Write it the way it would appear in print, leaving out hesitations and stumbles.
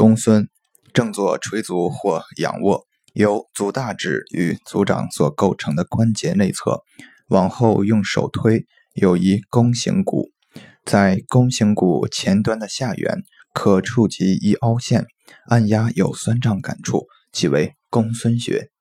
公孙，正坐垂足或仰卧，由足大趾与足掌所构成的关节内侧，往后用手推，有一弓形骨，在弓形骨前端的下缘可触及一凹陷，按压有酸胀感处，即为公孙穴。